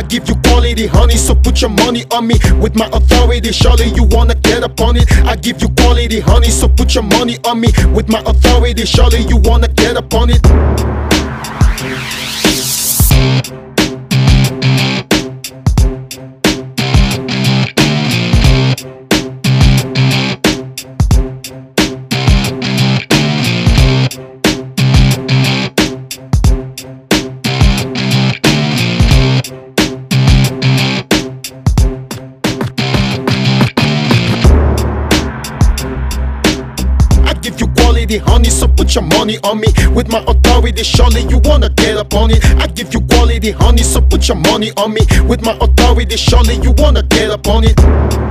give you quality honey, so put your money on me. With my authority, surely you wanna get up on it. I give you quality honey, so put your money on me. With my authority, surely you wanna get up on it. Give you quality honey, so put your money on me. With my authority, surely you wanna get up on it. I give you quality honey, so put your money on me. With my authority, surely you wanna get up on it.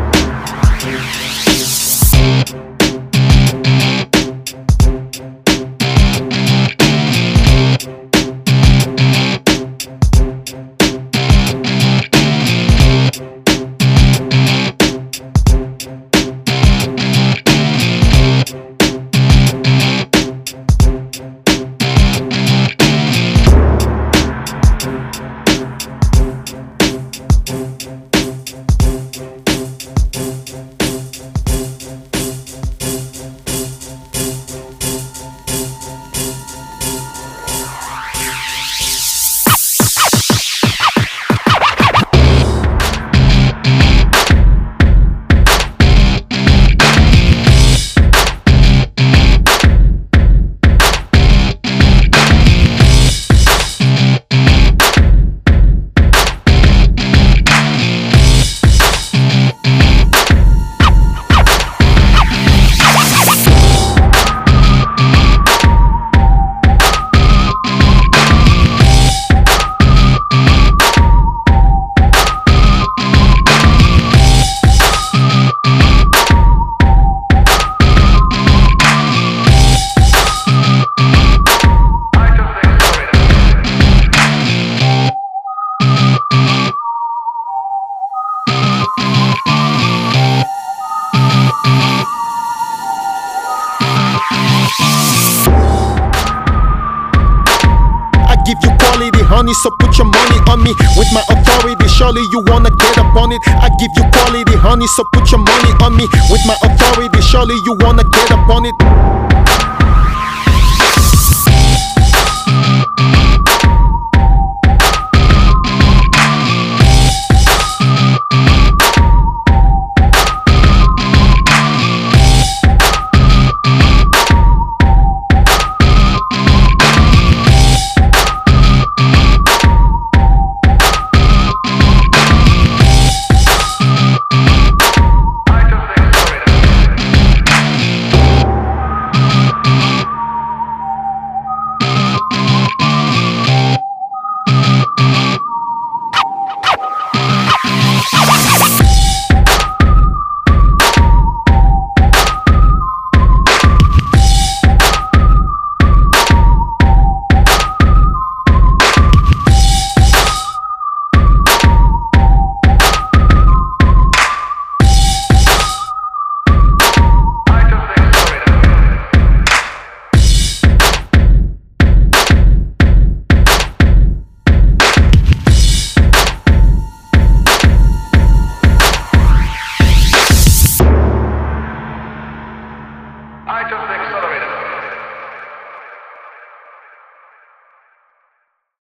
Give you quality honey, so put your money on me. With my authority, surely you wanna get up on it. I give you quality honey, so put your money on me. With my authority, surely you wanna get up on it.